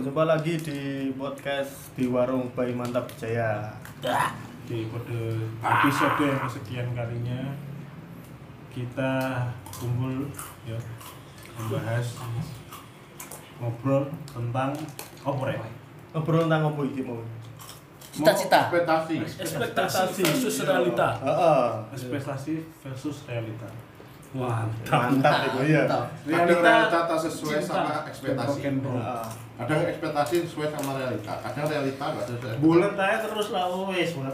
Jumpa lagi di podcast di Warung Bayi Mantap Jaya. Di episode yang kesekian kalinya kita kumpul ya membahas ngobrol tentang apa ya? Ngobrol tentang apa iki mau? Cita-cita. Ekspektasi versus realita. Ekspektasi versus realita. Mantap itu ya. Realita tak sesuai cinta. sama ekspektasi. Kadang ekspektasi sesuai sama realita, kadang realita nggak sesuai. Bulan aja terus lah wes buat.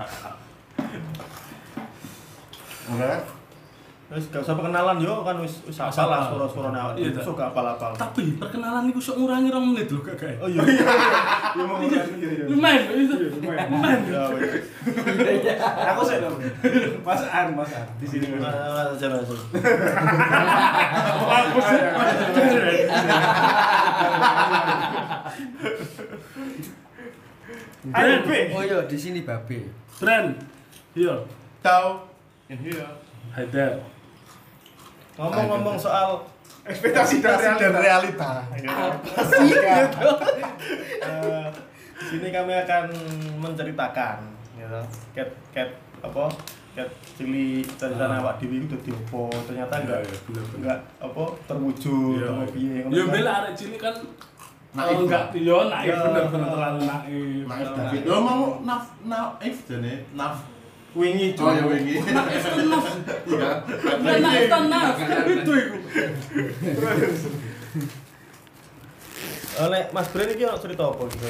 Enggak? Wis gak usah perkenalan yo kan wis apal lah suara-suarane awak. Iya, Iso gak apal-apal. Tapi perkenalan niku sok ngurangi 2 menit lho gak gawe. Oh iya. Yo mau Lumayan itu. Lumayan. Ya wis. Aku sih dong. Mas An di sini. Aja masuk. Aku sih. Ayo B. Oh iya, di sini babe. Brand. Iya. Tahu? Iya. Hai there. Ngomong-ngomong soal Ekspektasi dan realita. Di sini kami akan menceritakan gitu. Cat apa? Cat cili cerita awak dhewe iku dadi opo? Ternyata enggak apa terwujud atau piye ngono. Ya bela arek cilik kan Naif. enggak yo naif bener-bener terlalu naif. Naif David. Lo mau naif jane, naf. Wingi Oh ya wingi. Naif kan naif. Iya. Bukan naif kan naif. Itu iku. Oleh Mas Bren iki ono cerita apa gitu?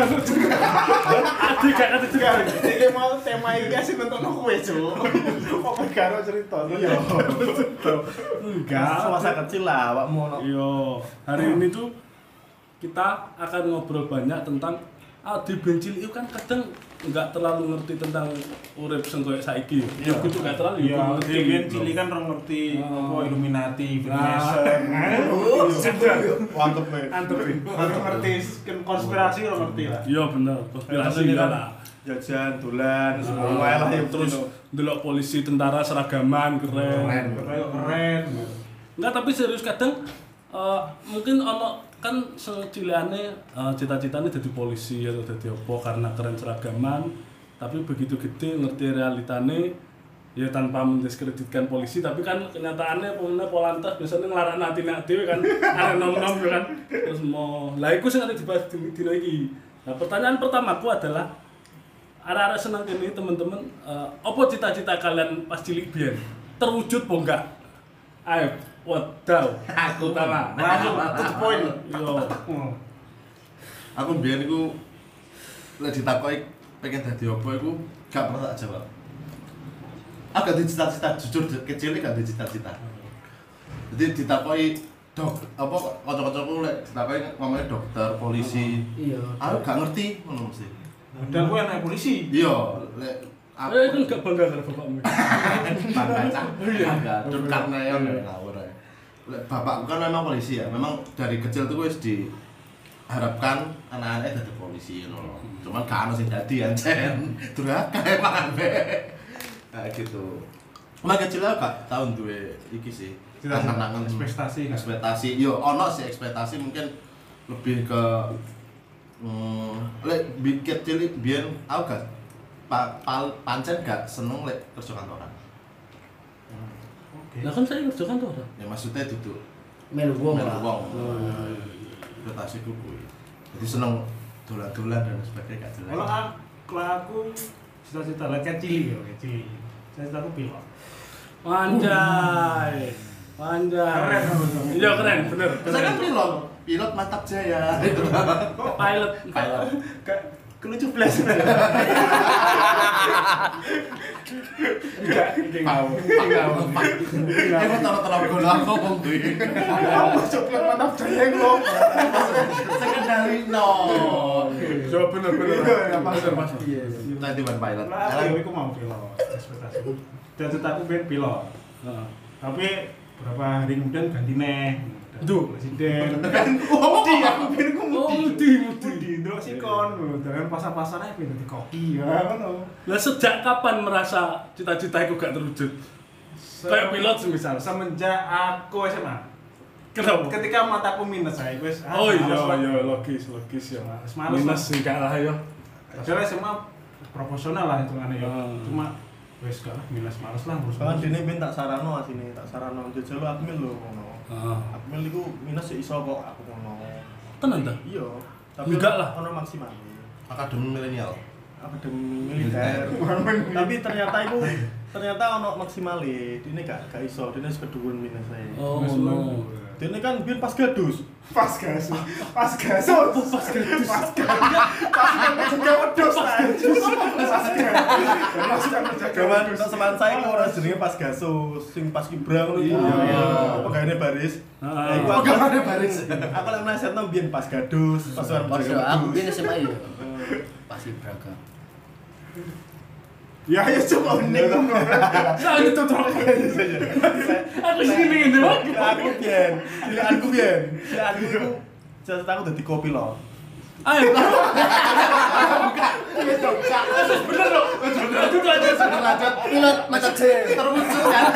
Adi gak ngerti juga. Iki mau tema iki asih nonton kowe, Cuk. Apa karo cerita? Iya. Enggak. Masa kecil lah awakmu ono. Iya, hari ini tuh kita akan ngobrol banyak tentang di bencil itu kan kadang nggak terlalu ngerti tentang urip sing koyo saiki. Ya kudu gak terlalu Iya, ngerti. Debian Cili kan orang ngerti apa Illuminati, Freemason. Mantep banget. Antep. Orang ngerti konspirasi orang ngerti lah. Iya bener, konspirasi enggak lah. Jajan, dolan, semua lah yang Terus delok polisi tentara seragaman keren. Keren. Enggak, tapi serius kadang mungkin ono kan seciliane cita-citane jadi polisi atau jadi apa karena keren seragaman, tapi begitu gede ngerti realitane ya tanpa mendiskreditkan polisi, tapi kan kenyataannya pemene Polantas biasanya ngelarak nanti dhewe kan arek nom-nom kan terus mau lah iku sing arep dibahas dina iki. Nah, pertanyaan pertamaku adalah arek-arek seneng kene teman-teman, apa cita-cita kalian pas cilik biyen terwujud apa enggak? Ayo, wadaw. Aku tahu. Langsung to the point. Yo. Aku mbiyen iku lek ditakoki pengen dadi apa iku gak pernah tak jawab. Aku gak ada cita-cita, jujur kecil gak ada cita-cita. Jadi ditakoki apa kanca-kancaku lek ditakoki ngomongnya dokter, polisi. Iya. Aku gak ngerti ngono mesti. Dan gue anak polisi. Iya, lek Kan gak bangga karo bapakmu. bangga cah. Bangga tur karneon ngawur ae. Lek bapakku kan memang polisi ya. Memang dari kecil tuh wis diharapkan anak-anaknya dadi polisi ngono. Cuman gak ono sing dadi ancen. Durhaka emang ambek. Kayak gitu. Cuma kecil aku gak tau duwe iki sih. Angan-angan ekspektasi. Yo ono sih ekspektasi mungkin lebih ke lek kecil biyen aku gak pancen gak seneng lek kerja kantoran. Lah kan saya kerja kantor. Ya maksudnya duduk Melu wong melu lah. wong. Ekspektasiku kuwi. Jadi seneng dolan-dolan dan sebagainya gak jelas. Kalau aku cita-cita lah kayak Cili ya, kayak Cili. Cita-citaku pilot. Anjay. Keren. Iya keren, bener. Saya kan pilot Mantap Jaya. Pilot. Kelucu belas. Tahu. Aku taruh bola ngomong kuwi. Apa coklat Mantap Jaya ngomong. Sekendari no. Coba bener. Iya. Nanti ban pilot. Lah, aku mau pilot. Ekspektasiku. Cita-citaku pengen pilot. Heeh. Tapi berapa hari kemudian ganti neh. Duh. Presiden. Mudi Aku pengen ku Oh, mudi. mudi. Ndelok sikon, dengan pasar-pasarnya pengen dadi koki ya ngono. Lah sejak kapan merasa cita-cita itu gak terwujud? Kayak pilot semisal. Semenjak aku SMA. Kenapa? Ketika mataku minus saya wis. Oh iya logis ya. Males, Minus Mas. sih gak lah ya. Padahal SMA proporsional lah hitungannya ya. Hmm. Cuma wis gak lah minus males lah ngurus. Kan dene ben tak sarano asine, tak sarano jajal lu akmil lho ngono. Heeh. Akmil iku minus ya iso kok aku ngono. Tenan ta? Iya, tapi Enggak lah. ono maksimal. Akademi milenial. Akademi militer. Tapi ternyata ono maksimale. Dene gak iso, dene wis keduwen minus ae. Oh Wis no. lu. Dene kan biyen pas gadus. Pas gas. Pas gas. Pas gas. Juga wedhus lah. Pas gas. Masukkan Gaman untuk seman saya kok ora jenenge pas gasus, sing pas kibrang ngono iku. Iya. Pegawene baris. Heeh. Iku aku Pegawene baris. Aku lek mlesetno biyen pas gadus, pas orang Pas jaga aku wedhus. biyen SMA yo. Pasti beragam. Ya coba nek ngono. Saya itu tuh. Aku sini ngene wae. Aku biyen iku jasa aku dadi kopi lho. Ayo. Bener loh. Lanjut. Pilot mata C. Terwujud kan.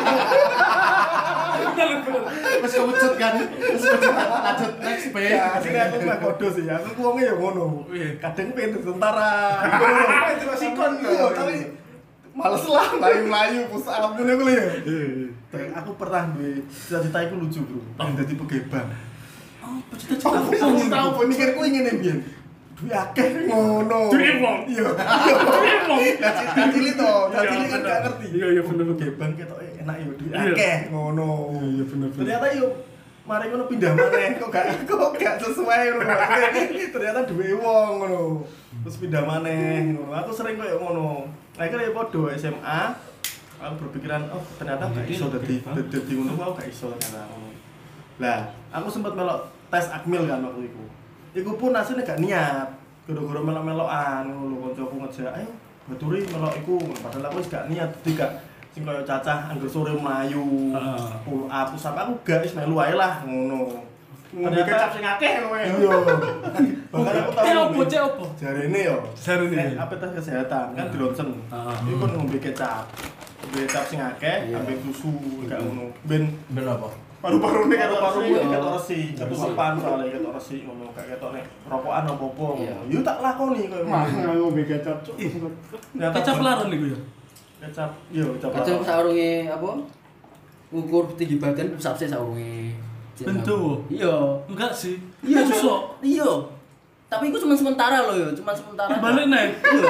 Wis kewujud kan. Lanjut next B. Asline aku mah kodo sih, aku wonge ya ngono. Kadang pengen dadi tentara. Itu sikon Iya, tapi males lah melayu-melayu push up ngono ku lho ya. Dan aku pernah duwe cita-cita iku lucu, Bro. Pengen dadi pegebang. Oh, cita-cita Aku tahu mikirku ingin mbiyen. Duwe akeh ngono. Duwe wong. Iya. Duwe wong. Lah cilik to, lah Iya, cilik kan bener. gak ngerti. Iya, bener. Pegebang ketoke enak ya duwe Iya. akeh ngono. Iya, bener. Ternyata yo mari ngono pindah maneh kok gak sesuai ngono. Ternyata duwe wong ngono. Terus pindah maneh ngono. Aku sering koyo ngono. Akhirnya ya podo SMA. Aku berpikiran oh ternyata gak iso dadi ngono aku gak iso ternyata ngono. Lah, aku sempat melok tes akmil kan waktu itu. Iku pun asline gak niat. Gara-gara melok-melokan ngono lho kancaku ngejak, "Ayo, baturi melok iku." Padahal aku wis gak niat, dadi gak sing kaya cacah anggur sore mlayu. Heeh. Pull up terus apa aku gak wis melu ae lah ngono. ngombe kecap sing akeh kowe. Iya. Bahkan aku tahu Cek opo? jarene yo. Jarene. Apa tes kesehatan kan di ronsen. Heeh. Iku kan ngombe kecap. Ngombe kecap sing akeh, Iya. ambek susu gak ngono. Ben Ben apa? Paru-paru nek paru-paru Iya. iki ketok resi, ketutupan soalnya ketok resi ngono, gak ketok nek rokokan apa-apa Iya. ngono. Yo tak lakoni koyo Mah ngono. ngombe kecap cuk. Ternyata Kecap laron niku ya. Kecap, yo kecap. Kacau laron. saurunge apa? Ukur tinggi badan sabse saurunge. Bentuk. Iya. Enggak sih. Iya, Susuk. Iya. Tapi itu cuma sementara loh ya, cuma sementara. Balik nek. Iya.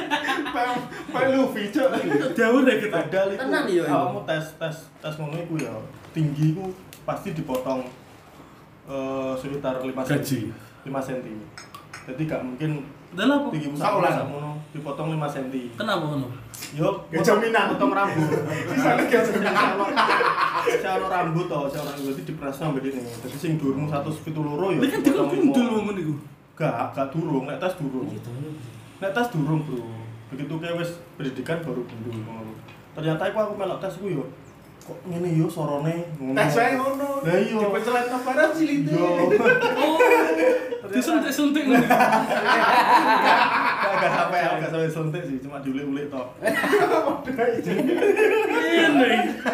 Pak Luffy cuk. Jauh deh kita. Padahal itu Tenan iya, iya. kamu tes ngono iku ya. Tinggi iku pasti dipotong sekitar 5 Gaji. 5 cm. Jadi gak mungkin Udah lah, Po. tinggimu Saulan. sak ngono dipotong 5 cm. Kenapa ngono? Yo, Gak jaminan. potong rambut. Sisane gak jaminan. Cara rambut to, cara rambut berarti dipresno mbek ini. Dadi sing dhuwurmu 172 yo. Ini kan dikon kundul wong niku. Gak durung, nek tes durung. Nek tes durung, Bro. Begitu kayak wis pendidikan baru gundul ngono. Ternyata aku melok tes iku yo. Kok ngene yo sorone ngono. Tes wae ngono. Lah iya. Dipencelan kabaran silite. Yo. Oh. Disuntik-suntik ngono. Gak sampai suntik sih, cuma diulik-ulik tok. Ini.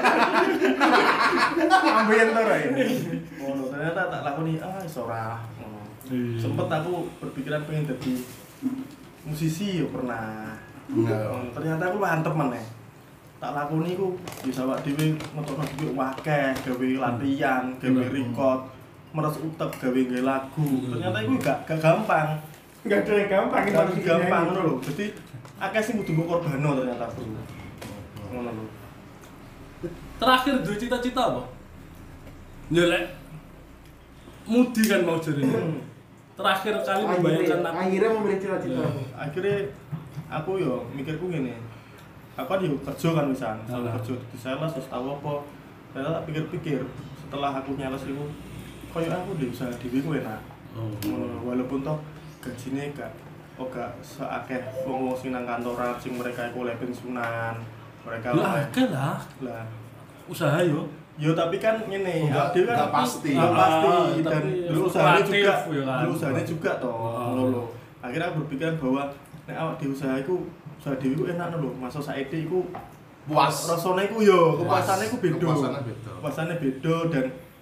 Ambeien to ra ya. Ngono, ternyata tak lakoni iso ora. Ngono. Iya. Sempet aku berpikiran pengen jadi musisi yo pernah. Ternyata aku mantep meneh. Tak lakoni ku bisa awak dhewe ngetokno dhuwit akeh, gawe latihan, gawe record, meres utek gawe nggae lagu. Ternyata iku gak gampang. Enggak ada yang gampang Gak gampang ngono lho. Dadi akeh sing kudu mbok korbano ternyata, Bro. Ngono lho. Terakhir duwe cita-cita apa? Ya lek mudi kan mau jarene. Terakhir kali membayangkan aku. akhirnya memilih cita-cita. Akhirnya aku yo mikirku gini. Aku kan yo kerja kan misalnya, kerja di sales terus tahu apa. Ternyata tak pikir-pikir setelah aku nyales iku koyo aku di usaha dhewe ku enak. Walaupun toh gajine gak seakeh wong sing nang kantoran sing mereka iku oleh pensiunan. Mereka Lah akeh lah. lah. Usaha yo. Yo tapi kan ngene, Enggak- dia kan enggak pasti. Enggak pasti dan Tapi usahanya fluktuatif, juga, ya kan. usahanya juga toh. Ngono lho. Akhirnya aku berpikiran bahwa nek awak di usaha iku usaha dhewe iku enak lho. Masa saiki iku Puas. rasane iku yo, kepuasane iku beda. Kepuasannya beda. Kepuasane beda dan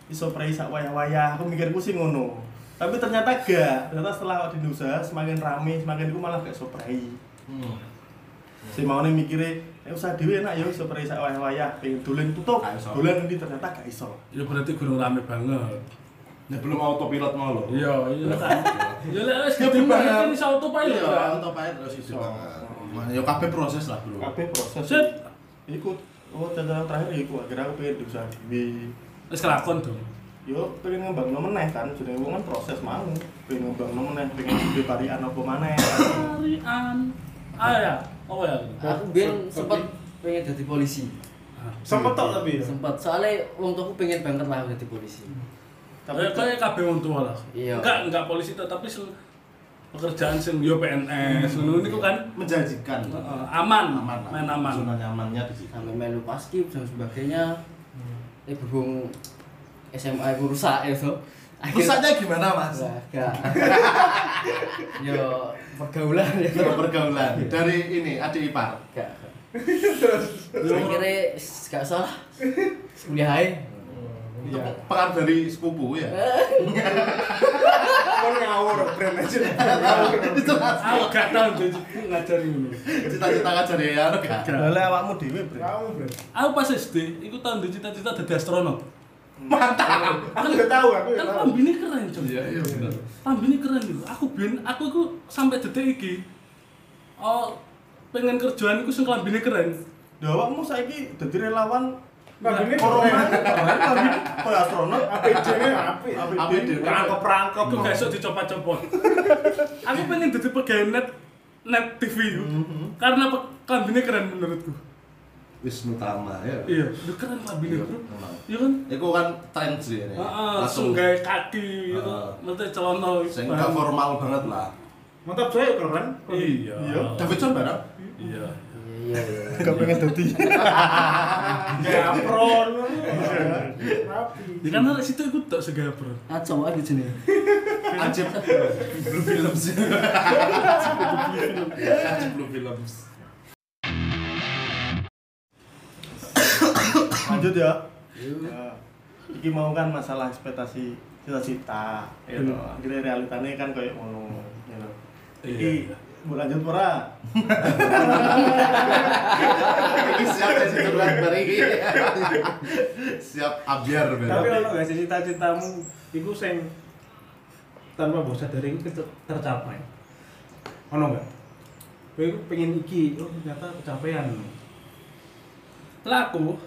iso prei sak wayah-wayah. Aku mikirku sih ngono. Tapi ternyata gak. Ternyata setelah di usaha semakin rame, semakin aku malah gak iso prei. Si maune mikire usaha dhewe enak ya iso prei sak wayah-wayah, pengen dolen tutup. Dolen ndi ternyata gak iso. Ya berarti gurung rame banget. Ya belum autopilot mau loh. Iya kan. Ya lek wis dibayar iso autopilot. Iya, autopilot terus iso. Ya kabeh proses lah, Bro. Kabeh proses. Sip. Iku catatan terakhir iku akhirnya aku pengen di usaha dhewe. Wis kelakon dong. Yo pengen ngembangno meneh kan, jenenge wong kan proses mau. Pengen ngembangno meneh, pengen duwe parian apa maneh. Parian. Ya. Oh ya. Aku biyen sempet pengen jadi polisi. Sempet tok tapi ya. Sempet. Soalnya wong tuaku pengen banget lah jadi polisi. Tapi kayak kabeh wong tua lah. Iya. Enggak polisi tapi pekerjaan sing yo PNS ngono niku kan Menjanjikan. aman. Aman. Main aman. Zona nyamannya di situ. Sampai melu paskib dan sebagainya. Berhubung SMA aku rusak ya so. Rusaknya gimana, Mas? Enggak. Yo pergaulan ya. Pergaulan dari ini adik ipar. Enggak. Akhirnya gak salah. Kuliah aja. Itu pengaruh dari sepupu ya. Kon ngawur brand aja. Aku gak tau ngajari ngono. Cita-cita ngajari ya gak. Lah awakmu dhewe, Bre. Kamu brand. Aku pas SD, iku tau ndek cita-cita dadi astronot. Mantap. Aku udah tahu aku. Kan pambine keren, Cuk. Iya bener. Pambine keren lho. Aku iku sampai detik iki pengen kerjaan iku sing klambine keren. Lah awakmu saiki dadi relawan Kabine corona. Koyo astronot, APD-nya apik. APD. Perangkap-perangkap. Aku gak iso dicopot-copot. Aku pengen dadi pegawai net TV itu. Karena klambine keren menurutku. Wisnu Tama ya. Iya, udah keren klambine, Bro. Memang. Iya kan? Itu kan tren sih ini. Langsung gawe kaki gitu. Nanti celana Sing gak formal banget lah. Mantap saya keren. Iya. Davidson bareng. Iya. Iya. Gak pengen dadi. Kayak apron. Rapi. Ya kan dari situ ikut tak segapro. Acau aja sini. Ajib Blue Films. Ajib Blue Films. Lanjut ya. Ya. Iki mau kan masalah ekspektasi cita-cita, ya toh. Akhirnya realitanya kan kayak ngono, ya toh. Iki mau lanjut ora? Iki siap jadi turunan bari. Siap abiar Tapi berarti. ono gak sih cita-citamu iku sing tanpa mbok sadari iku tercapai? Ono gak? Kowe iku pengen iki, oh ternyata kecapean. Lah aku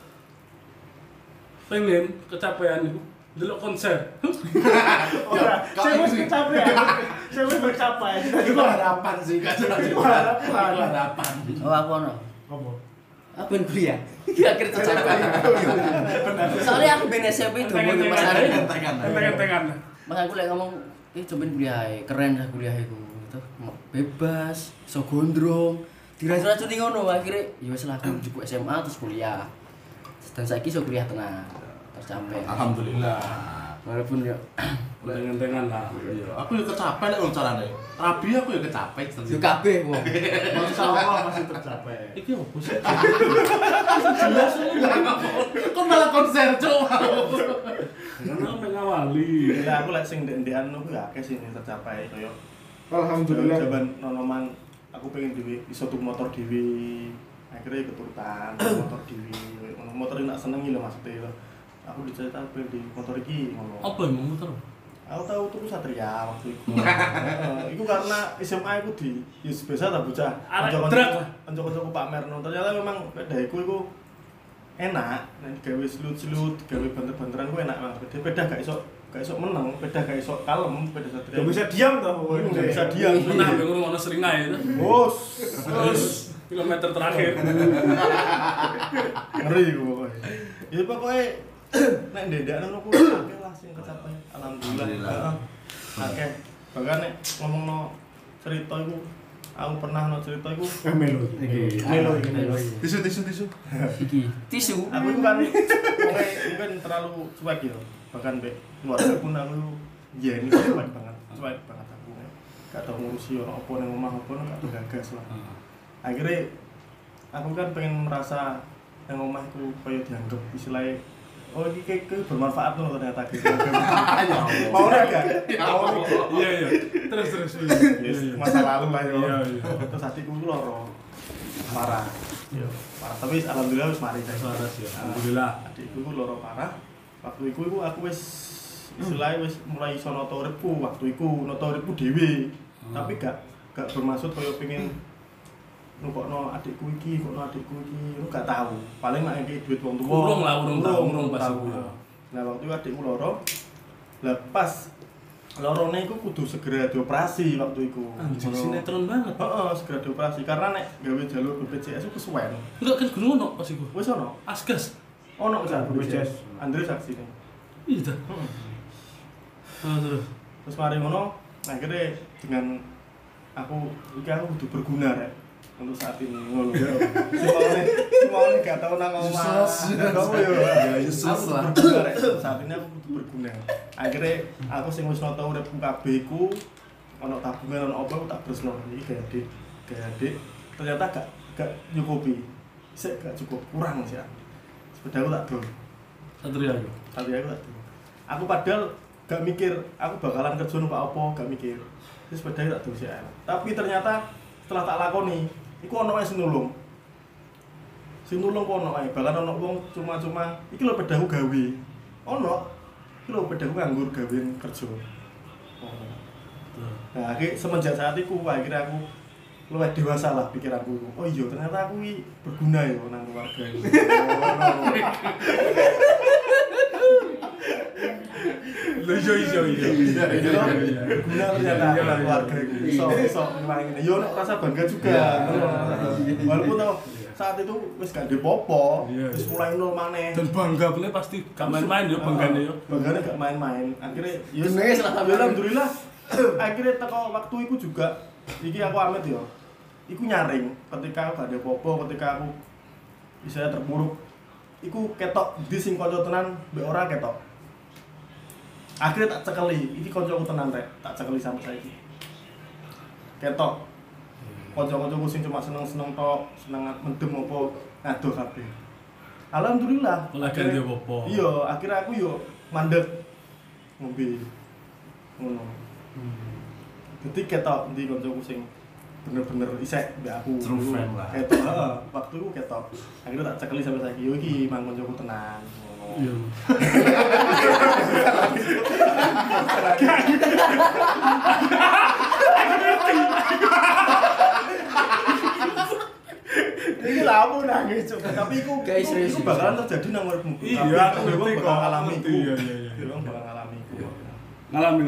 pengen kecapean itu delok konser. Ora, saya wis kecapean. Saya wis bercapai. Itu harapan sih, kan harapan. Oh aku ono. Apa? Aku pengen kuliah. Akhir tercapai. Soalnya aku pengen SMP itu mau Mas Ari. Enteng-entengan. Mas aku lagi ngomong, cobain kuliah aja, keren lah kuliah itu. Itu bebas, iso gondrong. Diracuni ngono akhirnya ya wis lah aku cukup SMA terus kuliah. Dan saiki iso kuliah tenang. Tercapai. Alhamdulillah. Walaupun ya Enteng-entengan lah. Iya, aku yo kecapai nek wong carane. Rabi aku yo kecapai. yo kabeh wong. Masya Allah masih tercapai. Iki opo sih? Jelas kok malah konser cuk. Karena mengawali. Lah aku lek sing ndek-ndekan aku ya akeh sih tercapai koyo Alhamdulillah. jaman nonoman aku pengen dhewe iso tuku motor dhewe. Akhirnya keturutan motor dhewe. Motor enak senengi lho maksudnya lho. Aku diceritain pengen di motor iki ngono. Apa yang mau motor? Aku tahu tuku Satria waktu itu. Iku karena SMA aku di biasa tak bocah. Arek drag. Kanca-kancaku Pak Merno. Ternyata memang pedahiku iku enak. Nek gawe selut-selut, gawe banter-banteran ku enak banget. Pedah gak iso meneng, pedah gak iso kalem, pedah Satria. Gak bisa diam toh. Gak bisa diam. Pernah yang ngomong seringai itu. Bos. Terus kilometer terakhir. Ngeri iku pokoknya. Ya pokoknya nek ndendakno aku akeh lah sing kecapai. Alhamdulillah. Alhamdulillah. Heeh. Akeh. Bahkan nek ngomongno cerita iku aku pernah no cerita iku Melo. Melo iki. Tisu. Iki tisu. aku itu kan pokoknya mungkin terlalu cuek ya. Bahkan mbek keluarga pun aku ya ini cuek banget. Cuek banget aku. Gak tau ngurusi orang apa nang omah apa gak tau gagas lah. Akhirnya aku kan pengen merasa yang omah itu kayak dianggap istilahnya oh ini kayak bermanfaat loh ternyata gitu. Ya Mau enggak? Iya. Terus. Yes, masa lalu lah yo. Iya. Terus adikku ku loro. Parah. Yo, parah. Tapi alhamdulillah wis mari saya. Waras ya. Alhamdulillah. Adikku ku loro parah. Waktu iku aku wis istilahnya wis mulai iso nata uripku. Waktu iku nata uripku dhewe. Tapi gak bermaksud koyo pengen nukokno adikku iki, lu gak tahu. Paling mak ngeki duit wong tuwa. Urung pas tahu. iku. Nah, waktu itu adikku loro. Lah pas lorone iku kudu segera dioperasi waktu iku. Anjir sinetron banget. Heeh, segera dioperasi karena nek gawe jalur BPJS iku kesuwen. Enggak kan gunung ono pas iku. Wis ono. Asgas. Ono kan BPJS. Andre saksine. Iya ta. Terus. Terus mari ngono, akhirnya dengan aku kudu berguna rek untuk saat ini ngono ya. Semuanya gak tau nang omah. Kamu ya Yesus lah. Saat ini aku kudu berguna. Akhirnya aku sing wis nata uripku kabeh iku ono tabungan ono apa tak beresno iki gaya adik. Ternyata gak nyukupi. Sik gak cukup, kurang sih. Sepedaku tak dol. Satria yo. Tapi aku tak dol. Aku padahal gak mikir aku bakalan kerja numpak apa, gak mikir. Terus sepeda tak dol sih. Tapi ternyata setelah tak lakoni iku ono wae sing nulung. Sing nulung kok ono wae, bahkan ono wong cuma-cuma iki lho pedaku gawe. Ono. Iki lho pedaku nganggur gawean kerja. Nah, akhirnya semenjak saat itu akhirnya aku luwih dewasa lah pikiranku. Oh iya, ternyata aku iki berguna ya nang keluarga ini. Iya. Berguna ternyata nang keluarga ini. Iso ngene. Yo nek rasa bangga juga. Walaupun tau saat itu wis gak dipopo, wis mulai nol maneh. Dan bangga bener pasti gak main-main yo banggane yo. Banggane gak main-main. Akhirnya yo alhamdulillah. Akhirnya teko waktu itu juga iki aku amit yo. Iku nyaring ketika aku gak ada popo, ketika aku bisa terpuruk. Iku ketok di sing kanca tenan mbek ora ketok. Akhirnya tak cekeli, iki kancaku tenan rek, tak cekeli sampai saiki. Ketok. Kanca-kancaku sing cuma seneng-seneng tok, seneng mendem apa ngadoh kabeh. Alhamdulillah. Lagi dia popo. Iya, akhirnya aku yo mandek ngombe. Ngono. Jadi ketok ndi kancaku sing bener-bener isek mbak aku. True friend lah. Ketok, heeh, waktu itu ketok. Akhirnya tak cekeli sampai saiki, yo iki mang kancaku tenan. Iya. Ini lah aku nangis coba, tapi itu bakalan terjadi nang uripmu. Iya, aku ngerti kok. Bakal ngalami iku. Iya. Wong bakal ngalami iku. Ngalami.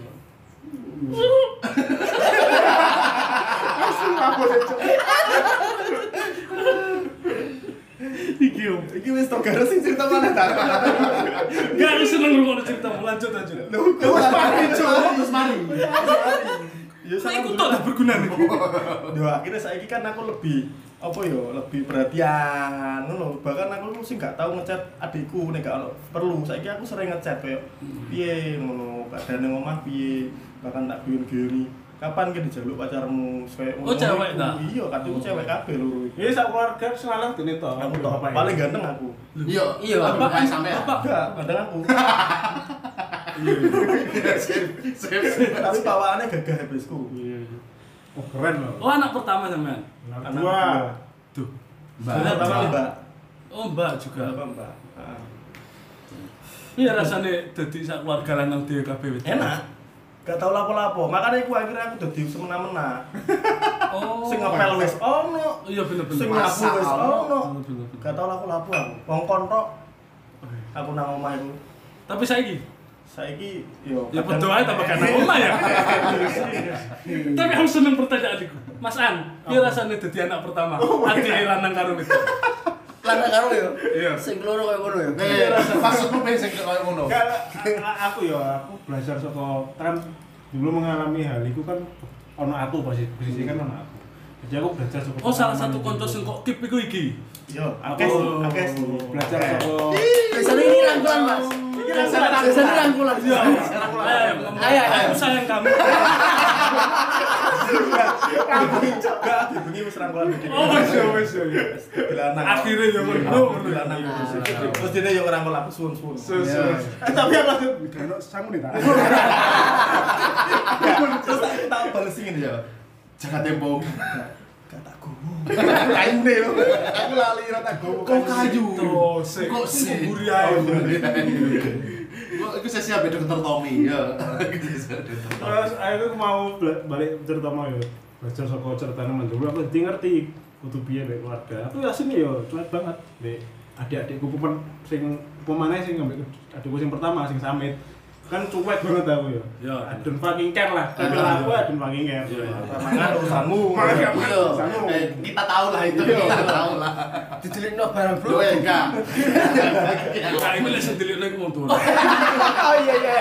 Iki wis tok garo sing cerita mana ta? Enggak aku seneng ngrungokno ceritamu, lanjut. Lho, wis mari coba, wis mari. Ya Saya ikut tok berguna nih. Yo akhirnya saiki kan aku lebih lebih perhatian ngono. Bahkan aku sing gak tau ngechat adikku nek gak perlu. Saiki aku sering ngechat koyo piye ngono, keadaan nang omah piye, bahkan tak guyon-guyoni. Kapan ki dijaluk pacarmu? Oh, cewek ta? Iya, kadang cewek kabeh loro iki. Ya sak keluarga selalu dene to. Aku tok paling ganteng aku. Iya, Apa? kayak sampean. Enggak, ganteng aku. Tapi bawaannya gagah habisku. Iya. Oh, keren loh. Oh, anak pertama sampean. Anak dua. Tuh. Anak pertama Mbak. Oh, Mbak juga. Mbak. Iya rasane dadi sak keluarga lanang dhewe kabeh. Enak. Gak tau lapo-lapo. Makanya akhirnya aku dadi semena-mena. Oh. Sing ngepel wis ono. Iya bener-bener. Sing nyapu wis ono. Bener-bener. Gak tau lapo-lapo aku. Ngongkon tok. Aku nang omah iku. Tapi saiki Saiki yo ya berdoa tambah kan omah ya. Tapi aku seneng pertanyaan iku. Mas An, piye rasane dadi anak pertama? Adik lanang karo itu. Lanang karo yo. Iya. Sing loro koyo ngono yo. Maksudmu pengen sing koyo ngono. Aku belajar saka kan dulu mengalami hal itu kan ono aku posisi kan ono aku. Jadi aku belajar saka Oh, salah satu kanca sing kok kip iku iki. yo Aku akeh belajar saka Biasanya ini rangkulan, Mas. Biasanya rangkulan. Ayo, aku sayang kamu. Enggak, dibengi wis rangkulan gede. Oh, wis ya. Dilanang. Akhirnya ya ngono. Dilanang terus dia yo ngerangkul aku suwun-suwun. Tapi aku langsung udah sangu nih tak. Terus tak bales ngene ya. Jaga tempo. Gak tak gowo. Kaine lho. Aku lali ra tak gowo. Kok kayu? Kok sih buri ae. Iku sesi ambek dokter Tommy ya. Terus aku mau balik cerita mau ya. Belajar saka ceritane mendulu aku jadi ngerti kudu piye mek keluarga. Aku yasin ya cuek banget nek adik-adikku sing pemane sing ambek adikku sing pertama sing Samit. Kan cuek banget aku ya. Ya. I don't fucking care lah. Tapi aku I don't fucking care. Mangan urusanmu. Kita tahu lah itu, kita tahu lah. Didelikno barang Loh enggak. Nah, ini lek sing delikne ku wong tuwa. Oh iya.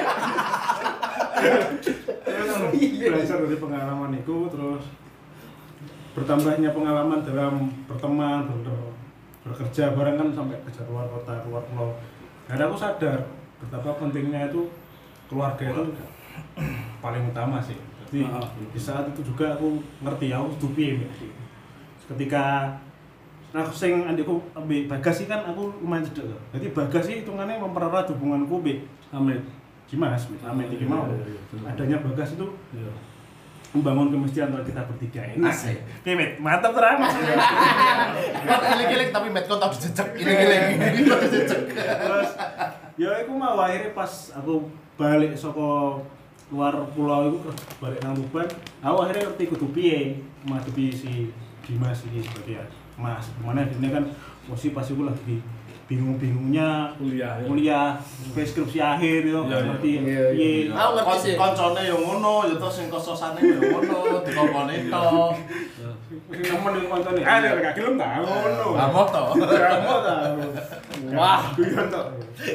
Belajar dari pengalaman itu, terus bertambahnya pengalaman dalam berteman, bekerja bareng kan sampai kerja keluar kota, keluar pulau. Dan aku sadar betapa pentingnya itu keluarga itu paling utama sih. Jadi di saat itu juga aku ngerti aku dupi ketika aku sing adikku ambek Bagas sih kan aku lumayan cedek. Jadi Bagas sih hitungannya mempererat hubunganku mbek Amin. Dimas, Amin iki mau. Adanya Bagas itu membangun kemestian antara kita bertiga ini. Asik. Kemet, mantap terang. Kok giling-giling tapi metcon tau dijejek. Giling-giling. Dijejek. Terus ya aku mau akhirnya pas aku balik saka luar pulau itu balik nang Tuban, aku akhirnya ngerti kudu piye ngadepi si Dimas iki sebagai Mas. Mana dene kan posisi pas iku lagi bingung-bingungnya kuliah skripsi akhir yo ngerti piye. Aku ngerti sih. Koncone yo ngono, yo terus sing kososane yo ngono, dikongkone tok. Temen yang koncone, nek gak gelem ta ngono. Amot to. Amot ta. Wah. Guyon tok.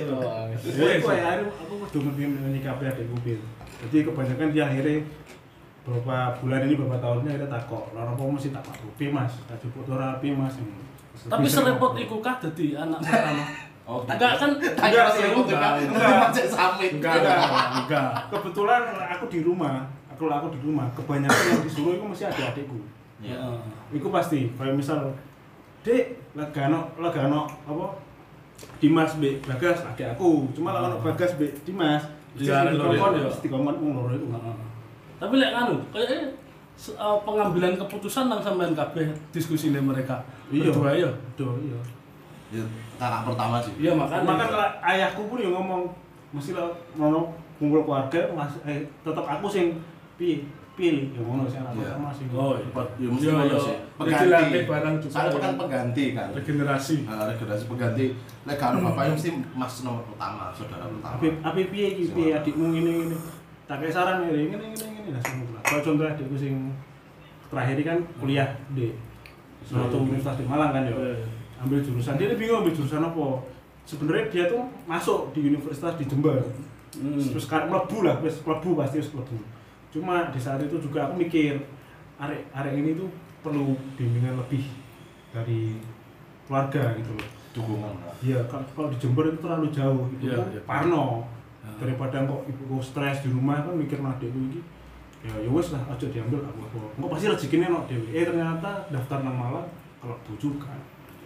Ya iku aku kudu ngerti menyikapi adikku Bil. Jadi kebanyakan dia akhirnya beberapa bulan ini beberapa tahunnya kita takok, lha apa mesti tak Pi Mas, tak jupuk ora Pi Mas. Tapi serepot iku kah dadi anak pertama? Oh, Enggak kan? Enggak sih, enggak samit. Enggak. Kebetulan aku di rumah, aku di rumah, kebanyakan yang disuruh itu mesti adik-adikku. Iya. Iku pasti, kayak misal Dek, lagano apa? Dimas mbek Bagas adik aku. Cuma lek ono Bagas mbek Dimas, dikongkon wong loro iku. Tapi lek nganu, kayaknya pengambilan keputusan nang sampean kabeh diskusine mereka. Berdua ya. Iya. Ya, kakak pertama sih. Iya makanya. Ayahku pun yang ngomong mesti lah ngono kumpul keluarga tetap aku sing pilih yang ngono sing anak pertama sing. Oh, Ya mesti ngono sih. Pengganti barang juga. Saya kan pengganti kan. Regenerasi. Regenerasi pengganti. Lek karo bapaknya mesti mas nomor pertama, saudara pertama. Tapi piye iki piye adikmu ngene. Tak kayak saran ngene lah semua. Kalau contoh adikku sing terakhir ini kan kuliah di suatu universitas di Malang kan ya. Ambil jurusan dia bingung ambil jurusan apa. Sebenarnya dia tuh masuk di universitas di Jember. Terus kan mlebu lah, wis mlebu pasti wis mlebu. Cuma di saat itu juga aku mikir arek ini tuh perlu bimbingan lebih dari keluarga gitu loh. Dukungan. Iya, kalau di Jember itu terlalu jauh gitu. Parno. Daripada kok ibuku stres di rumah kan mikir adikku iki ya wis lah aja diambil aku engko pasti rezekine ono dhewe ternyata daftar nang Malang kalau bojo kan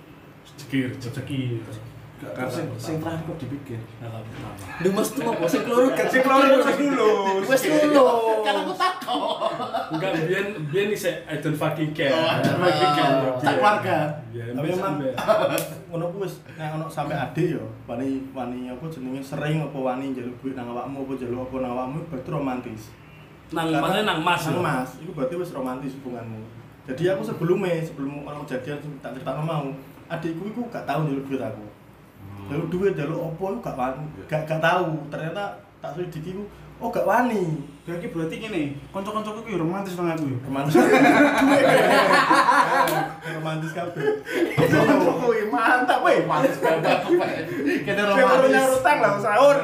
rezeki Kan sing terakhir kok dipikir. Duh Mas tuh apa sing keloro kan? sing keloro wis lulus Wis lulus. Kan aku takut. Enggak biyen iki I don't fucking care. Tak keluarga. Tapi memang ngono ku wis nek ono sampe adik yo wani apa jenenge sering apa wani njaluk duit nang awakmu apa njaluk apa nang awakmu berarti romantis. Nang Mas. Nang Mas, iku berarti wis romantis hubunganmu. Jadi aku sebelum ono kejadian tak critakno mau, adikku iku gak tau njaluk duit aku. Njaluk duit njaluk apa iku gak wani, gak tahu. Ternyata tak selidiki iku oh gak wani. Berarti gini, kanca-kancaku iki romantis banget aku yo. Romantis. Romantis kabeh. Woi, mantap woi. Males banget. Kene Romantis. romantis. Utang lah sahur.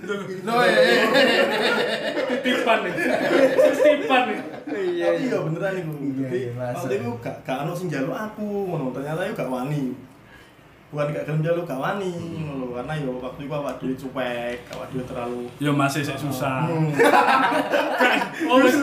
Titipan nih. Titipan nih. Iya beneran iku. Iya, Waktu itu gak ono sing njaluk aku ngono, ternyata yo gak wani. bukan gak gelem njaluk gawani ngono lho, karena yo waktu itu awak dhewe cuek, awak dhewe terlalu Ya masih sik susah. oh wis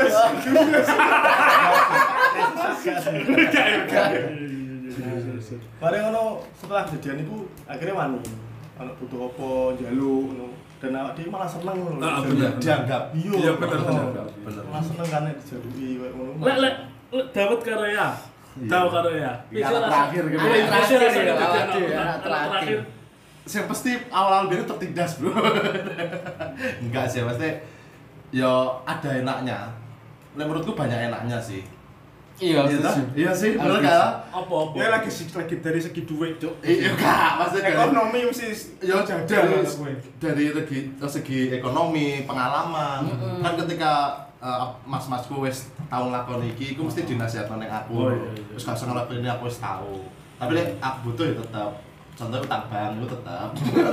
bareng ngono setelah kejadian itu akhirnya wani ana butuh apa njaluk ngono dan awak dhewe malah seneng ngono Ah, lho. bener. Dianggap. Iya, bener, bener. Bener. Malah seneng kan nek dijaluki koyo ngono. Lek Dawet karo ya. Tahu karo ya. Anak terakhir gitu. Anak Bisa terakhir rasanya ya, jadi anak anak terakhir. terakhir. Yang pasti awal-awal biar tertindas bro. Enggak sih, pasti ya ada enaknya. Menurutku banyak enaknya sih. Iya, Iya sih, bener kan? Apa-apa. Ya lagi dari segi duit, Cuk. Iya kak, maksudnya Ekonomi mesti ya jajan dari segi ekonomi, pengalaman. Kan ketika mas-masku wis tau nglakoni iki, iku mesti dinasihatno ning aku. Oh, iya, iya. Wis gak usah ngelakuin ini aku wis tau. Tapi lek aku butuh ya tetep. Contohnya utang bank itu tetep.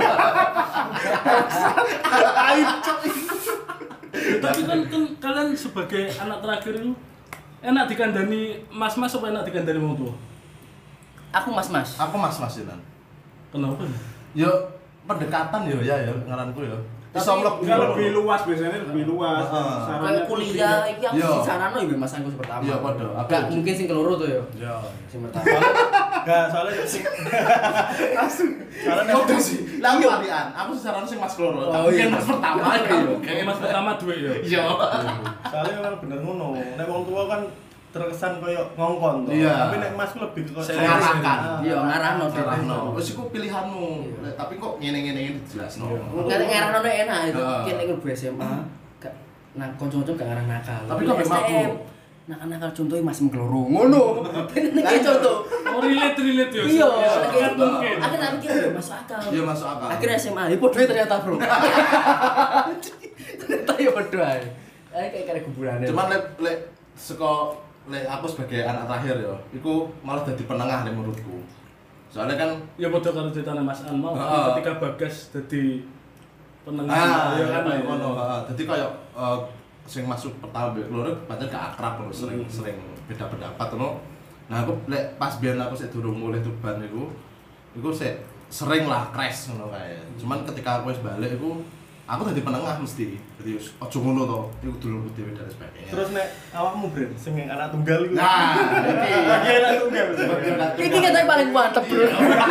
Tapi kan kalian sebagai anak terakhir itu enak dikandani mas-mas apa enak dikandani wong tua? Aku mas-mas. Aku mas-masinan. Kenapa? Yo pendekatan yo ya ngaranku yo. Iso Enggak lebih luas biasanya lebih luas. Heeh. Kayak kuliah iki aku Yo. sing sarano ya Mas Anggus pertama. Iya, padha. Aku Enggak mungkin sing keloro tuh ya. Ya. Sing pertama. Enggak, soalnya sing soalnya Kok sih? Lah aku alian. Aku sesaran sing Mas Kloro. Oh, Mungkin iya. Mas pertama Oh, ya. iya. Kayak mas pertama duit ya. Iya. soalnya memang bener ngono. Nek wong tua kan terkesan koyo ngongkon to. Iya. Tapi nek masku lebih ke Mengarahkan. Iya, ngarahno Ngarahno. Wis iku pilihanmu. Tapi kok ngene-ngene iki dijelasno. Nggak ngarahno enak itu. Heeh. Mungkin nek mlebu SMA gak nah kanca-kanca gak ngarah nakal. Tapi kok memang aku nakal contohnya Mas Mgloro ngono. Nek contoh. Oh relate ya. Iya, sangat mungkin. aku tak pikir ya masuk akal. Iya masuk akal. Akhirnya SMA, ya podo ternyata bro. Ternyata ya podo ae. Kayak kuburane. Cuman lek saka lek aku sebagai anak terakhir ya, iku malah dadi penengah nek menurutku. Soalnya kan Ya padha karo ceritane Mas An mau Heeh. ketika Bagas dadi penengah ya kan. kayak ngono, heeh. Dadi koyo sing masuk pertama mbek loro pancen gak akrab lho, sering beda pendapat ngono. Nah, aku lek pas biyen aku sik durung mulih Tuban iku sik sering lah crash ngono kae. Cuman ketika aku wis balik iku aku dadi penengah mesti. Jadi wis aja ngono to, iku dulurku dhewe dan sebagainya. Terus nek awakmu Bren sing anak tunggal iku. Nah, iki Bagi anak tunggal. Iki katanya paling mantep bro.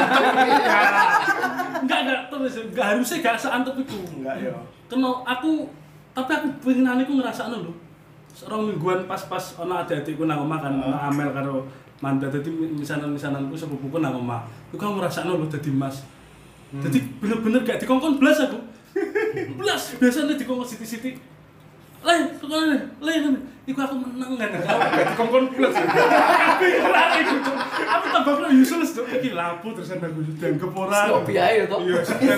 Enggak terus enggak harusnya gak seantep iku. Enggak ya. Kena tapi aku pengen iku ngrasakno lho. Serong mingguan pas-pas ana adik-adikku nang omah kan, ana Amel karo Manda dadi misanan-misananku sepupuku nang omah. Iku aku ngrasakno lho dadi Mas. Dadi bener-bener gak dikongkon blas aku. Blas biasanya dikongkon siti-siti. Kekone, iku aku menang kan. Gak dikongkon blas. Aku lari iku. Aku tambah useless tuh iki lapo terus aku dianggep ora. Kok biaya to? Iya, dan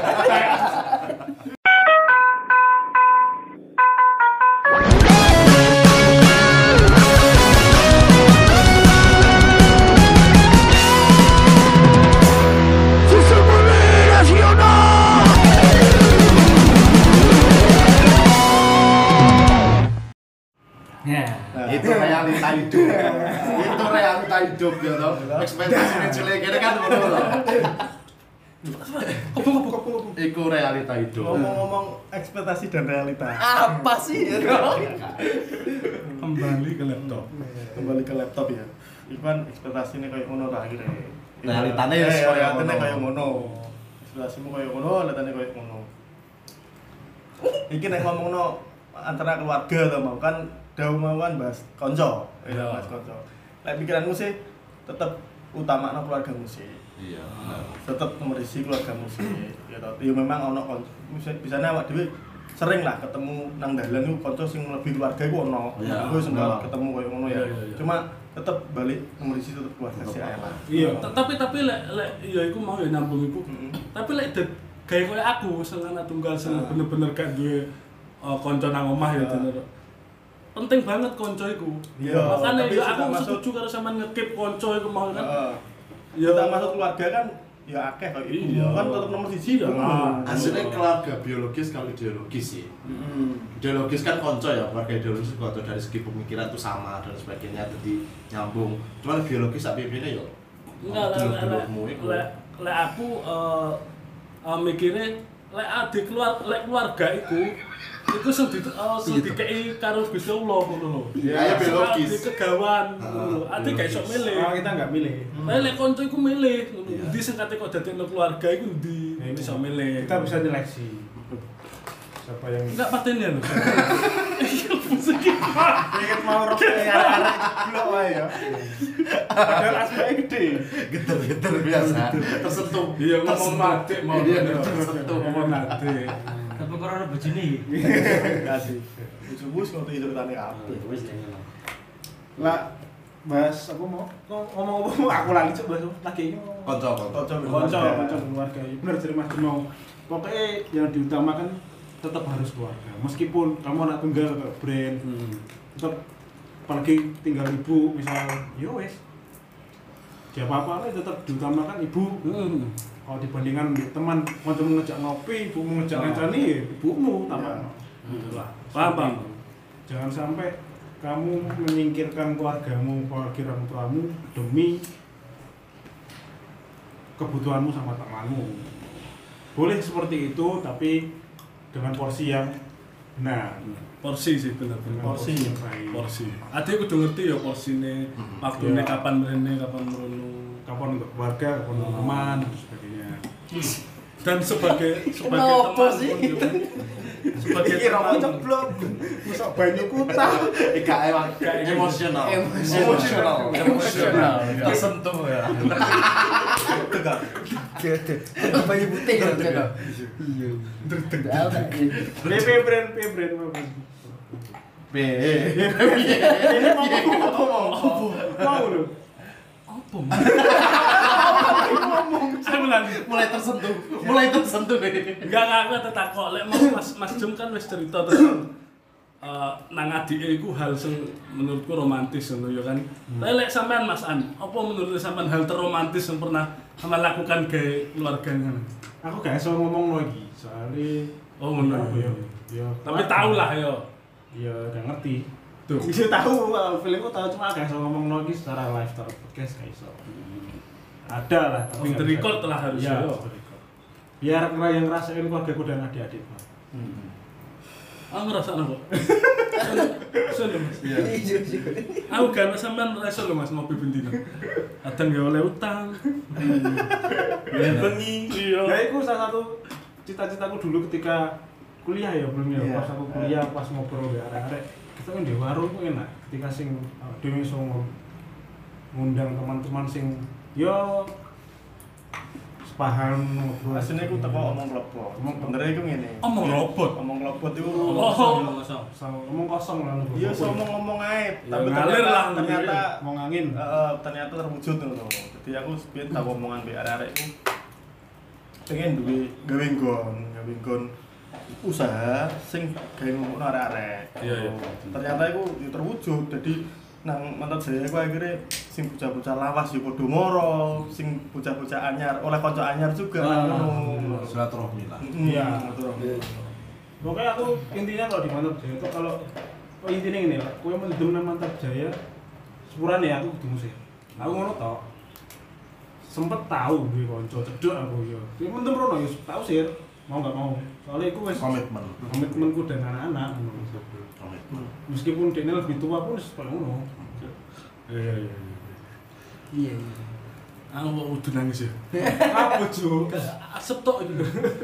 Ya. itu realita hidup. Itu realita hidup ya toh. Ekspektasi jelek kene kan ngono lho. Iku realita hidup. Ngomong-ngomong ekspektasi dan realita. Apa sih? kembali ke laptop. Kembali ke laptop ya. Iku kan ekspektasinya kayak ngono ta akhirnya. Realitane ya wis kaya realitane ngono. kayak ngono. Ekspektasimu kayak ngono, realitane kayak ngono. Iki nek ngomongno antara keluarga to mau kan dawuh mau kan bahas kanca, ya bahas kanca. Lek pikiranmu sih tetep utamakno keluargamu sih. Iya. Tetep nomor isi keluargamu sih. Ya toh. Ya memang ono kanca. Bisane awak dhewe sering lah ketemu nang dalan iku kanca sing lebih keluarga iku ono. Iya. Aku wis enggak ketemu koyo ngono ya. Iya, iya, iya. Cuma tetep balik nomor isi tetep keluarga sih ae lah. Iya. Tapi lek ya iku mau ya nyambung iku. Tapi lek gawe koyo aku sing anak tunggal sing bener-bener gak duwe kanca nang omah ya bener. Penting banget kanca iku. Iya, Makane tapi ya sudah aku masuk- setuju karo sampean ngekip kanca iku mau kan. Heeh. Ya Kita masuk keluarga kan ya akeh kok itu. Iya. Kan tetep nomor siji Iya. dong. Aslinya keluarga biologis kalau ideologis sih. Ideologis kan konco ya, keluarga ideologis konco dari segi pemikiran tuh sama dan sebagainya, jadi nyambung. Cuman biologis tapi ini yo. enggak dulur-dulurmu iku. lek lek aku mikire lek keluarga iku sing dikeki karo Gusti Allah ngono lho. Ya biologis. Kegawan ngono lho. Ade gak iso milih. Kita nggak milih. Lek kanca iku milih ngono. Endi sing kate kok dadekno keluarga iku endi iso milih. Kita bisa seleksi. Siapa yang enggak pateni lho. Pengen mau rokok arek jeblok wae ya. Padahal aspeknya gede. Geter-geter biasa. Tersentuh. Iya ngomong mati mau tersentuh. ngomong mati. Tapi corona begini. Kasih. Wis ngerti ceritane apa. Wis ngono. lah bahas aku mau ngomong aku lagi coba lagi ini konco keluarga. Bener jadi Mas Jumau. Pokoknya yang diutamakan tetap harus keluarga. Meskipun kamu anak tunggal ke brand, tetap apalagi tinggal ibu misal, yo wes. Siapa apa tetap diutamakan ibu. Kalau dibandingkan teman mau ngejak ngopi, ibu mau ngejak ngancani, ibumu utama. Paham. Jangan sampai kamu menyingkirkan keluargamu, keluarga orang tuamu demi kebutuhanmu sama temanmu. Boleh seperti itu, tapi dengan porsi yang benar. Porsi sih bener-bener. Porsi yang baik. Porsi. Ade kudu ngerti ya porsine, waktune kapan mrene, kapan mrono. Kapan untuk keluarga, kapan untuk teman, dan sebagainya. Dan sebagai Kenapa teman sih? pun juga. Sebagai teman jeblok. Masuk banyu kutah. Emosional. Tersentuh ya. Tegak. Bayi putih kan jaga. Iya. Brand. Ini mau lu. apa? Saya bilang Mulai tersentuh. enggak aku tetakok lek mau Mas Jum kan wis cerita tentang nang adike iku hal sing menurutku romantis ngono ya kan. Lek sampean Mas An, apa menurut sampean hal terromantis yang pernah sampean lakukan gawe keluarga ngono? Aku gak iso ngomong lagi, soalnya Ngono ya. Ya, Tapi tau lah ya. ya gak ngerti. Tuh. Bisa tahu, filmku tahu cuma gak iso ngomong lagi secara live, secara podcast gak iso. Ada lah, tapi Off the record lah harusnya. Ya, off the record. Biar yang ngerasain keluargaku dan adik-adik. Aku ngerasakno kok. Sun lho Mas. Iya. Aku gak sampean reso lho Mas ngopi bendino. Kadang ya oleh utang. Bengi. Iya. Ya itu salah satu cita-citaku dulu ketika kuliah ya belum ya. Iya. Pas aku kuliah, pas ngobrol ya arek-arek, kita kan di warung itu enak. Ketika sing dhewe iso ngundang teman-teman sing yo sepaham ngobrol. Asline iku teko omong klebot. Bener iku ngene. Omong robot. Omong klebot iku Ngomong kosong lah. iya ngomong ae, Ya, tapi ngalir lah, ternyata mau angin. ternyata terwujud ngono. Jadi aku sepiye tak omongan mbek arek-arek iku pengen duwe gawe nggon usaha sing gawe ngono arek-arek. Iya. Ternyata iku yo terwujud. Jadi nang mantap saya aku akhirnya sing bocah-bocah lawas yo padha moro, sing bocah-bocah anyar oleh kanca anyar juga ngono. Silaturahmi lah. Iya. Betul. Pokoknya aku intinya kalau di Mantap Jaya itu kalau intinya ini lah, aku yang mendem nang Mantap Jaya sepurane ya aku kudu musik. Aku ngono tok. Sempet tahu duwe kanca cedhek aku yo. Ya mendem rono yo tahu sih. Mau enggak mau. Soalnya aku wis komitmenku dan anak-anak. Meskipun dia lebih tua pun seperti ngono. Iya. Iya. Aku kok udah nangis ya. Apa cu? Asep tok iki.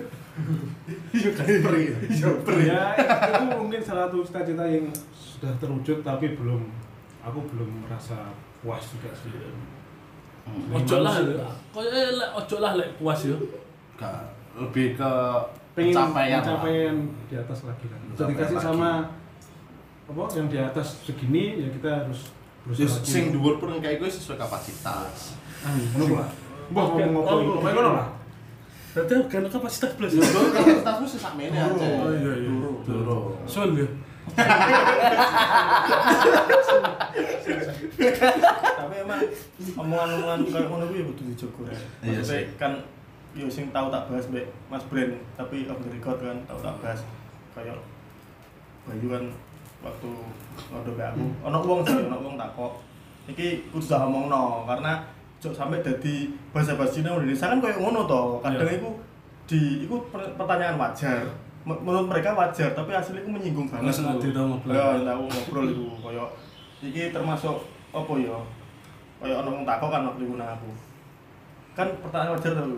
Iya kan perih. Ya itu mungkin salah satu cita-cita yang sudah terwujud tapi aku belum merasa puas juga sih. Ojo lah. Koyo lek ojo lah lek puas yo. Lebih ke Pencapaian pencapaian. di atas lagi kan. Bisa Pencapaian dikasih lagi. sama apa yang di atas segini ya kita harus berusaha. Terus sing dhuwur pun kayak gue sesuai kapasitas. ngono lah. Mbah ngomong apa ngono lah. Berarti kan kapasitas plus. Kapasitasmu sih sakmene aja. Oh iya. Duro. Son ya. Tapi emang omongan-omongan kayak ngono kuwi kudu dijogo rek. Iya Maksudnya sih. kan yo sing tau tak bahas mbek Mas Brand, tapi off the record kan tau tak bahas kayak Bayu kan waktu ngono mbek aku. Ono wong takok. Iki kudu tak omongno karena jok sampai dadi basa-basi nang Indonesia kan koyo ngono to. Kadang iku pertanyaan wajar. Menurut mereka wajar, tapi hasilnya iku menyinggung banget. Sengaja to ngobrol. Ya, aku ngobrol iku koyo iki termasuk apa ya? Koyo ono wong takok kan waktu iku nang aku. Kan pertanyaan wajar to lu.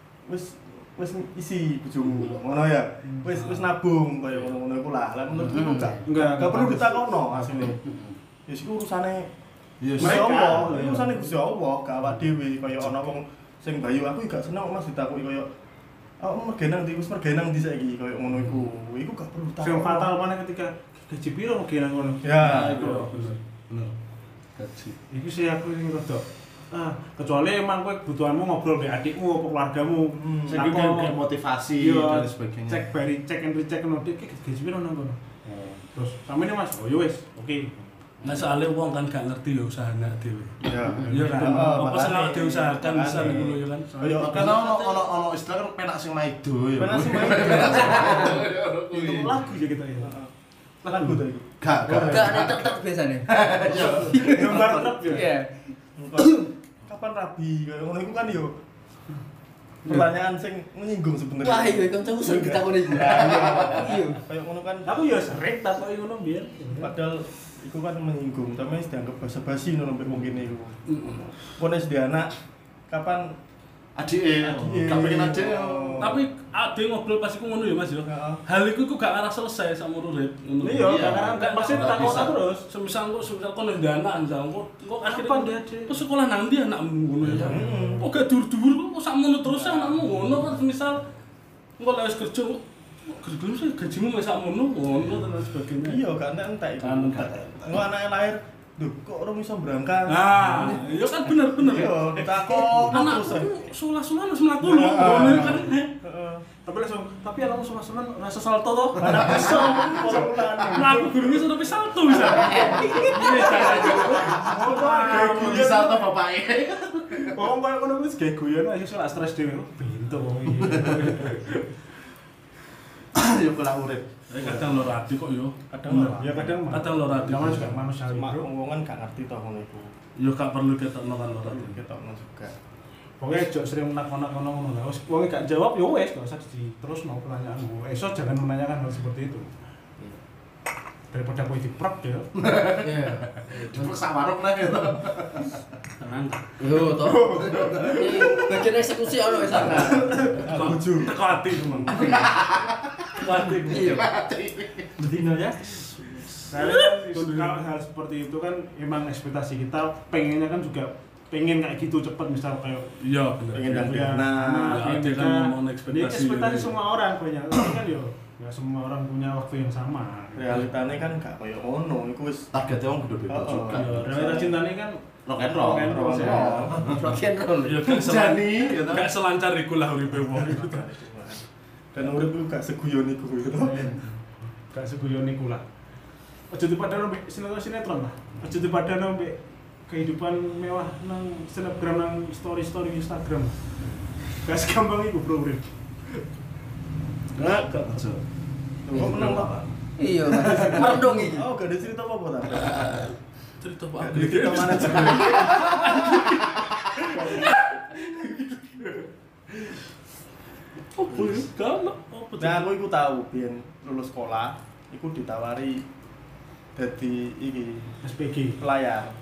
Wis isi bojomu ngono ya. Wis nabung koyo ngono-ngono iku lah. Lah menurutku enggak perlu ditakokno asline. Ya iku urusane mereka, itu urusannya Gusti Allah, gak awak dhewe kaya ana wong sing bayu aku gak seneng Mas ditakoki kaya mergenang di wis mergenang di saiki kaya ngono iku. Iku gak perlu takok. Sing fatal mana ketika gaji piro mergenang ngono. Ya, itu bener. Gaji. Iku sih aku sing rada kecuali emang kowe kebutuhanmu ngobrol dengan adikmu atau keluargamu sing kayak motivasi dan sebagainya. Cek and recheck ngono iki gaji piro nang kono. Terus sampeyan Mas, oh yo wis, oke. Nah soalnya wong kan gak ngerti ya usahanya dhewe. Ya. Iya kan. Apa sing awake diusahakan bisa ngono ya kan. Kaya Kan ono istilah kan penak sing maido ya. penak sing main. Itu lagu ya kita ya. Lagu to iku. Gak ada tek-tek biasanya. Gambar truk ya. Iya. Kapan rabi kaya ngono iku kan yo pertanyaan sing menyinggung sebenarnya. Wah, iya kancaku sering ditakoni iku. Iya. Kayak ngono kan. Aku ya sering takoki ngono biyen. Padahal iku kan menyinggung, tapi wis dianggap basa-basi ngono mbek wong kene iku. Pone wis anak kapan Adike, gak pengen adik. Tapi ade ngobrol pas iku ngono ya Mas yo. Hal iku gak arah selesai sama urip ngono. Iya, karena pasti takut terus. Semisal kono ndek anak misal kok Kapan dia akhirnya kok sekolah nang ndi anakmu ngono ya. Kok gak dur-dur kok sakmono terus anakmu ngono kan semisal engko lek wis kerja kerjanya sih gajimu wis sakmono ngono dan sebagainya. iya gak entek iku. Engko anake lahir, lho kok ora iso berangkat. Nah, iya kan bener-bener. Iya, ditakok terus. Anakku sulah-sulah wis mlaku lho ngono kan. Heeh. Tapi langsung, tapi anakmu sulah-sulah rasa salto toh. Anak iso ora ulan. Mlaku gurunge sudah wis salto bisa. Iya Di salto bapake. Wong koyo ngono wis gawe guyon aja soal stres dhewe. Pintu wong iki. Yo kula urip. Kadang lho hati kok yo. Kadang ora. Ya kadang Kadang lho hati. namanya juga manusiawi, Mak Bro. wong kan gak ngerti to ngono iku. Yo gak perlu ketokno kan lho hati. Ketokno juga. Pokoknya jok sering menak-menak ngono lah. Wis wong gak jawab ya wis, gak usah diterusno pertanyaanmu. Esok jangan menanyakan hal seperti itu. Daripada kowe diprek ya. Iya. Cepet sak warung lah gitu. Tenang. Yo toh. Bagian eksekusi ono wis ana. Bojo. Teko hati teman. Teko hati. Iya. Bedino ya. Kalau hal seperti itu kan emang ekspektasi kita pengennya kan juga pengen kayak gitu cepet misal kayak Iya bener. Pengen dan punya anak. anak, Ya, pengen dia kan nikah. ngomong ekspektasi. Ini ekspektasi gitu. semua orang punya, tapi kan yo nggak semua orang punya waktu yang sama. Realitane kan gak koyo ngono, iku wis Targetnya wong beda-beda Oh, juga. Iya, realita cintanya kan Rock and roll. rock and roll ya. Rock and roll. Iya kan selancar. Jani, gitu. Gak selancar iku lah uripe wong. dan urip iku gak seguyon iku gitu. Gak seguyon iku lah. Aja dipadano mbek sinetron lah. Aja dipadano mbek kehidupan mewah nang snapgram nang story Instagram. Gak segampang iku bro urip. Gak Aja. Kok menang Pak? Iya, merendong iki. Oh, gak ada cerita apa-apa ta? Cerita Gak Pak. ada cerita mana sih? Oh, boleh kan? Apa Nah, aku iku tahu biyen lulus sekolah, iku ditawari dadi iki SPG. pelayar.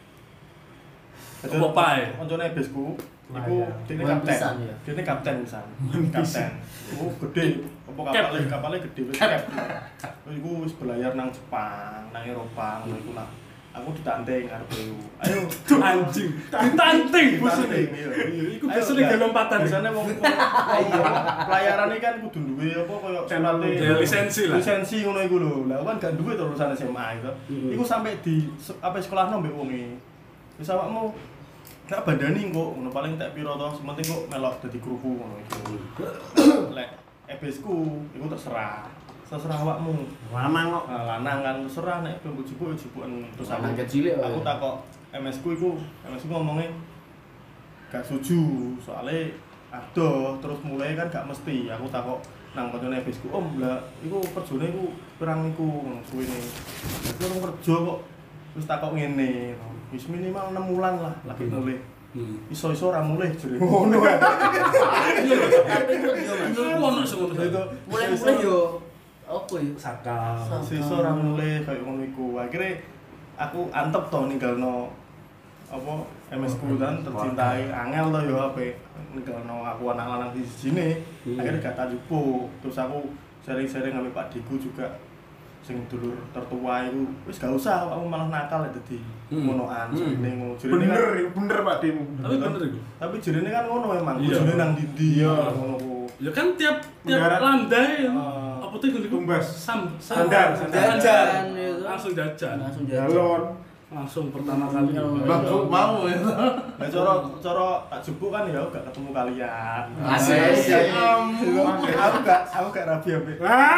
Apa pae? Koncone besku, iku Pelayar. dene Wan kapten. pisan ya? Dene kapten pisan. Kapten. Iku gede, apa kapale gede wis cap. Iku wis belayar nang Jepang, nang Eropa ngono iku lah. Aku ditanting arep iku. Ayo, Anjing. Ditanting bosnya. ditanting, iya. Iku biasane gak lompatan. Biasane wong pelayaran iki kan kudu duwe apa koyo surate Ya, lisensi lah. Lisensi ngono iku lho. Lah aku kan gak duwe to lulusan SMA itu. Iku sampe di apa sekolahno mbek wong iki. Wis awakmu gak bandani kok ngono paling tak piro to, sementing kok melok dadi kruku ngono iku. Lek ebesku iku terserah. Terserah awakmu. Lanang kok. Nah, lanang kan terserah nek mbok jupuk jupuken terus aku. Lanang kecil ya. Aku takok MS ku iku ngomongnya gak setuju soalnya adoh terus mulai kan gak mesti aku takok nang koncone bisku om lah iku kerjane iku perang iku suwene aku orang kerja kok terus takok ngene wis minimal 6 bulan lah lagi mulai Iso-iso ora mulih jare. Ngono ya. Iya lho, tapi ku yo Mas. Dulu ono sing ngono Itu Mulai-mulai yo apa ya? sakal. iso ora mulih kaya ngono iku. Akhire aku antep to ninggalno apa MS ku kan tercintai angel to yo ape ninggalno aku anak lanang di sini. Akhirnya gak tak jupuk. Terus aku sering-sering ngambil Pak Diku juga sing dulur tertua iku wis gak usah aku malah nakal ya dadi ngonoan jenenge ngono. Bener Pak Dim. Tapi bener iku. Tapi jenenge kan ngono memang. Iya. Bojone nang ndi Iya. ngono ku. Ya kan tiap Mendarat. landai Ah. apa tuh iku Tumbas. sandar. Jajan itu. Langsung jajan. Langsung jajan. Galon. Langsung pertama kali. Bagus mau ya. Nah, cara tak jupuk kan ya gak ketemu kalian. Asik. Aku gak rabi ambek.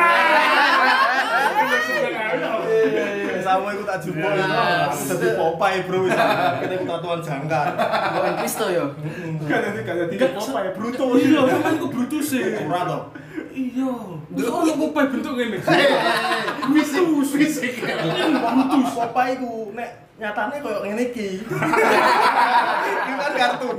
Sama iku tak jupuk itu. Aku dadi Popeye, Bro. Kita iku tatuan jangkar. Bukan Kristo yo. Gak jadi apa ya Bruto. Iya, kan ku brutus sih. Ora to. Iya. Terus ono Popeye bentuk ngene. Fisik. Brutus Popeye iku nek nyatane koyo ngene iki. Iki kan kartun.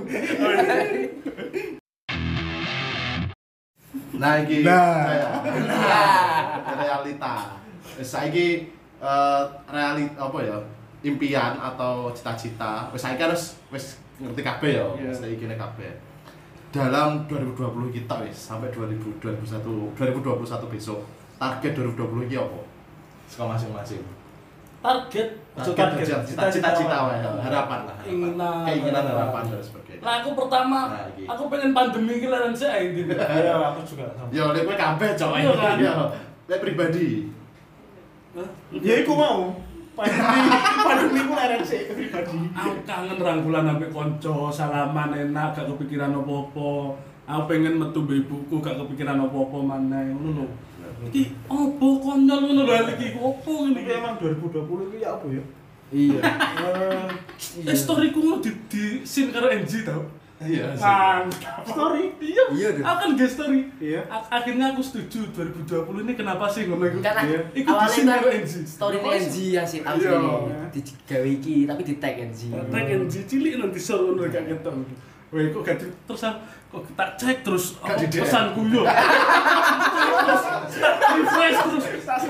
Nah iki Nah. realita. Saiki realita apa ya? Impian atau cita-cita. Wis saiki harus wis ngerti kabeh ya. Iya. Saiki kene kabeh. Dalam 2020 kita wis sampai 2021 besok. Target 2020 iki apa? Saka masing-masing. Target Cita-cita wae, harapan lah. Keinginan harapan dan sebagainya. Nah, aku pertama, Nah, iki. aku pengen pandemi iki laran sik ae iki. Iya, aku juga sama. Yo, lek kowe kabeh cok. Iya kan? Yo, lek pribadi. Ya iku mau. Pandemi ku leren sik pribadi. Aku kangen rangkulan ambek kanca, salaman enak, gak kepikiran apa-apa. Aku pengen metu mbek ibuku, gak kepikiran apa-apa maneh, ngono lho. Iki opo konyol ngono lho iki opo ngene Ini iki. emang 2020 itu ya apa ya? Iya. Storyku ngono di scene karo NG tau. Iya. Mantap. Story. Iya, Iya, deh. aku kan guest story. Iya. Akhirnya aku setuju 2020 ini kenapa sih ngono iku. Karena Iya. Iku di scene karo NG. story NG yang sih tahu Iya. ini digawe iki tapi di tag NG. Tag NG cilik nanti sore ngono gak ketok. Weh kok gak terus kok tak cek terus Gak di DM. pesanku yo. Terus refresh terus.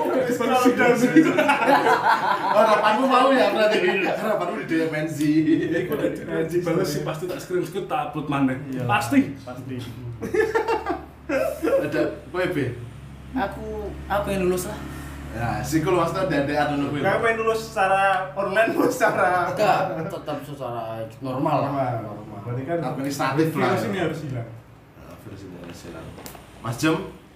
Harapanmu mau ya berarti. Harapanmu di DMNZ. Iku dibales sih pasti tak screenshot tak upload maneh. Iya. Pasti. Ada kowe B. Aku pengen lulus lah. Ya, sikul maksudnya dedean ngono kuwi. Kayak pengen lulus secara online atau secara Enggak, tetap secara normal lah. normal. Berarti kan Administratif lah. virus ini harus hilang. Nah, versi Indonesia lah. Mas Jem.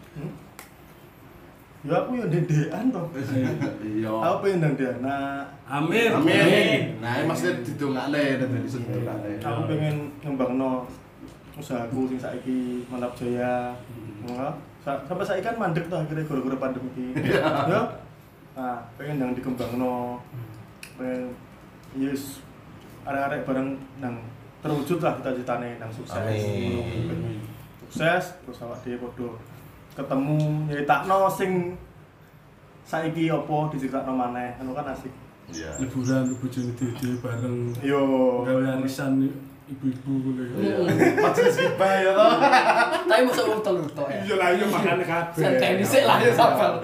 Ya aku yo ndedekan to. Iya. Aku pengen ndang dana. Amin. Amin. Nah, ini maksudnya didongakne dan disebutane. Aku pengen ngembangno usahaku sing saiki Mantap Jaya. Sampai saiki kan mandek tuh akhirnya gara-gara pandemi iki. Ya. Nah, pengen yang dikembangno. Pengen yes arek-arek bareng nang terwujud lah cita-citane nang sukses. Amin. Pengen sukses terus awak dhewe padha ketemu nyeritakno sing saiki apa diceritakno maneh. Anu kan asik. Iya. Liburan bojone dhewe bareng Yo. gawe arisan ibu-ibu ngono ya. Majelis gibah ya toh. Tapi masa wong telu tok ya. Iya lah, iya makanya kabeh. Santai dhisik lah ya sabar.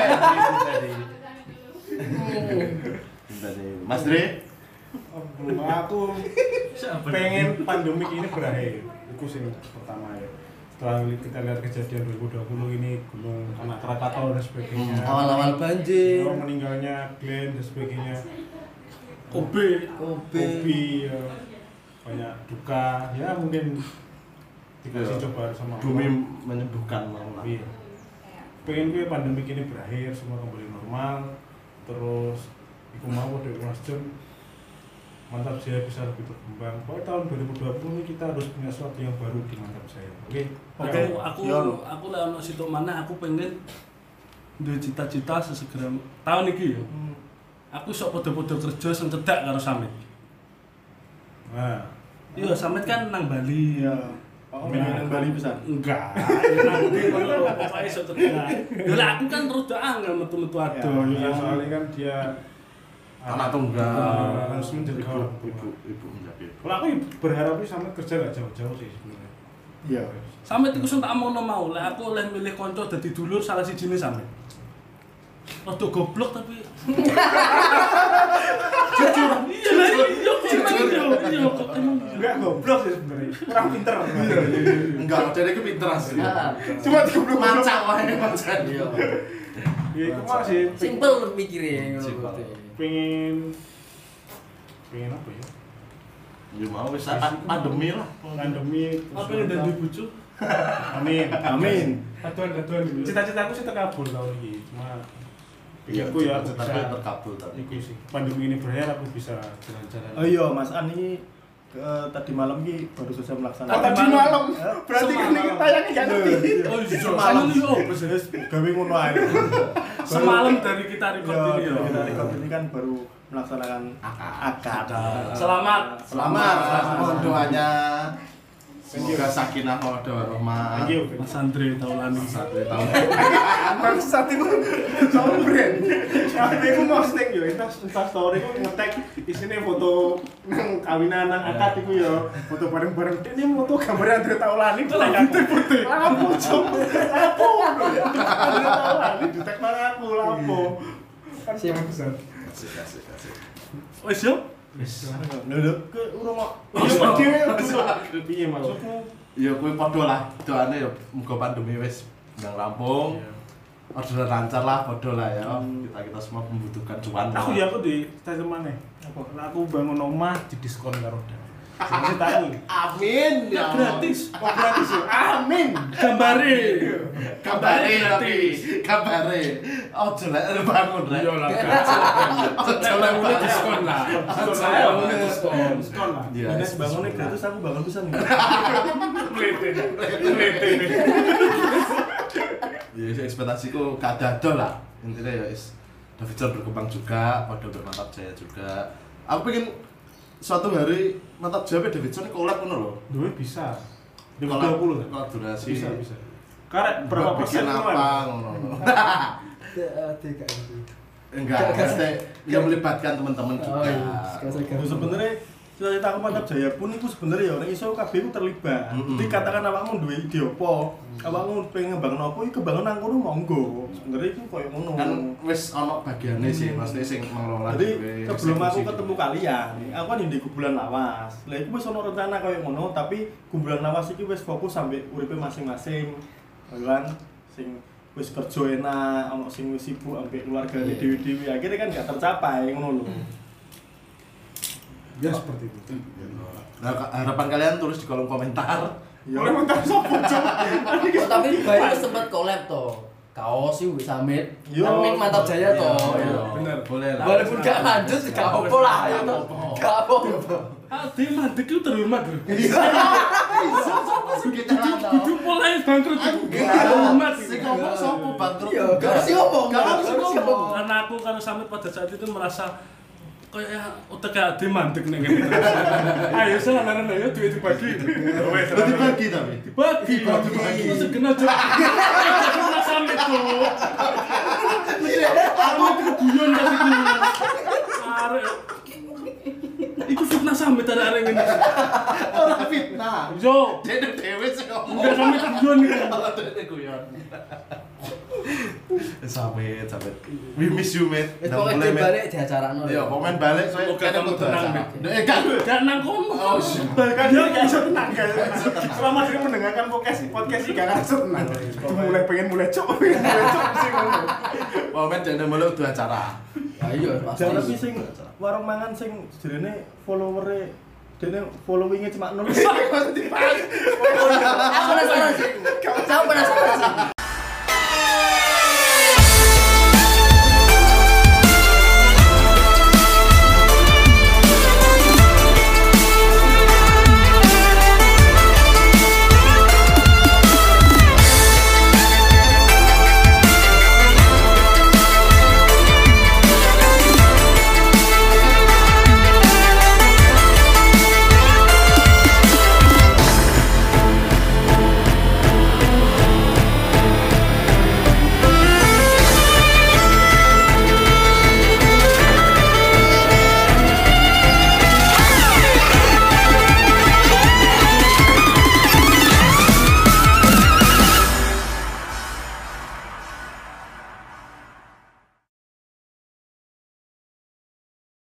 Mas Dre. Aku pengen pandemik ini berakhir. Itu sih pertama ya. Setelah kita lihat kejadian 2020 ini Gunung Anak Krakatau dan sebagainya. Awal-awal banjir. Meninggalnya Glenn dan sebagainya. Kobe. Kopi ya. Banyak duka. Ya mungkin dikasih Iya. coba sama Bumi Allah. menyembuhkan mau lah. Iya. Pengen gue pandemik ini berakhir, semua kembali normal. Terus iku mau dari Mas Jem Mantap Jaya bisa lebih berkembang. Pokoknya tahun 2020 ini kita harus punya sesuatu yang baru di Mantap Jaya. Oke. Oke. Aku lah ono situ mana aku pengen duwe cita-cita sesegera tahun iki ya. Aku sok podo-podo kerja sing cedak karo Samit. Nah, Iya, Samit kan nang Bali. Iya. Oh, pengen Bali bisa. Enggak, nanti kalau pokoknya sok cedak. Ya lah aku kan rada angel metu-metu ado. ya, soalnya kan dia anak tunggal harus menjaga orang tua. ibu menjaga ibu. Kalau aku berharap sih sama kerja gak jauh-jauh sih sebenarnya. Iya. Sampe iku sing tak omongno mau, lek aku oleh milih kanca dadi dulur salah sijine sampe. Rada goblok tapi jujur. Iya, kok emang Enggak goblok sih sebenarnya. Kurang pinter. Enggak, dia itu pinter asli. Cuma goblok Macak wae macak. Iya. Ya itu mah sih Simple mikirnya ngono. Simple. pengen apa ya? Ya mau wis pandemi lah. Pandemi. apa yang dadi bojo? Amin. Amin. Datuan gitu. Cita-citaku sih terkabul tahun ini. Cuma Iya, aku ya tapi bisa terkabul tapi. iku sih. Pandemi ini berakhir aku bisa jalan-jalan. Oh iya, Mas Ani tadi malam ki baru selesai melaksanakan. Tadi malam. Berarti kan ini tayangnya gak ngerti. Oh iya, Semalam semalam yo. wis gawe ngono ae. Semalam dari kita record Iya, ini ya. kita record ini kan baru melaksanakan akad. Selamat. Selamat. Mohon doanya. Semoga sakinah mawaddah warahmah. Thank you. Mas Andre Taulani. Satu tahun. Bangsat itu soal brand. Tapi aku mau posting yo, Insta story ku nge-tag isine foto nang kawinan nang akad iku yo. Foto bareng-bareng. Ini foto gambar Andre Taulani itu lagi putih. Lapo, Cuk. Lapo. Andre Taulani di-tag nang aku lapo. Kan Siap. bangsat. Asik. Wis yo. Wis. Lho, ke urung kok. Iya, dhewe. Piye maksudmu? Ya kuwi padha lah. Doane ya muga pandemi wis nang rampung. Orderan lancar lah, padha lah ya. Kita semua membutuhkan cuan. Aku ya aku di statement maneh. Apa? Aku bangun omah di diskon karo Dam. Sing tahu. Amin ya. Gratis. Oh gratis ya. Amin. Gambare. Kabare tapi kabare. Ojo lek bangun rek. Yo lah. Ojo lek Mulai diskon lah. Saya Mulai diskon. diskon lah. Iya. Nek bangunnya gratis aku bangun pisan. Ya ekspektasiku kadado lah. Intinya ya is Davidson berkembang juga, pada bermantap jaya juga. Aku pengen suatu hari mantap jaya Davidson collab ngono lho. Duwe bisa. Di Collab 20 kan? kolaborasi. Bisa. Karena berapa persen bikin itu apa ngono. Enggak, pasti yang melibatkan teman-teman juga. Itu sebenarnya cita-cita aku mantap jaya pun itu sebenarnya ya orang iso kabeh ku terlibat. Jadi katakan awakmu duwe ide apa, awakmu pengen ngembangno apa iki kembangan nang kono monggo. Sebenarnya itu koyo ngono. Kan wis ana bagiane sih, maksudnya sing mengelola Jadi dhewe, sebelum aku eksekusi. ketemu kalian, aku kan di Kumpulan Lawas. Lah iku wis ana rencana koyo ngono, tapi Kumpulan Lawas iki wis fokus sampai uripe masing-masing. Kan sing wis kerja enak, ono sing wis sibuk ambek keluargane dewi-dewi. Akhirnya kan gak tercapai ngono lho. Ya seperti itu. Nah, harapan kalian tulis di kolom komentar. Boleh mentar sopo, Cuk? Oh, tapi bayi sempat collab toh. Kaos sih wis samit. Yo. Nang Mantap Jaya toh. Bener, boleh lah. Walaupun gak lanjut gak apa lah ya toh. Gak apa. Ade mandek itu terhormat lho. Kita Kudu mulai bangkrut itu terhormat. Sing ngomong sopo bangkrut? Iya, gak harus ngomong. Gak harus ngomong. Karena aku kalau sampai pada saat itu merasa kayak utek ade mandek nek ngene. Ayo selaran ayo duit dibagi. Wes. Dibagi tapi. Dibagi. Terus kena aja. Kena sampe tuh. Aku guyon kasih guyon. Arek. Iku fitnah sampe arek ngene. Ora fitnah. Yo, Dene dhewe sing ngomong. udah sampe guyon iki. Ora dene guyon. Sampai. We miss you, mate. Itu pokoknya dia balik di acara no. Iya, komen balik soalnya Semoga kamu tenang, Mate. Kan. Gak nang kono. Oh, shit. Bahkan dia gak bisa tenang guys. Selama dia mendengarkan podcast ini gak bisa tenang. Pengen mulai cok sih ngomong. Komen jangan mulai udah acara. Ya iya pasti. Jangan tapi sing warung mangan sing jenenge follower-e dene following-nya cuma 0. Aku penasaran sih. Aku penasaran sih.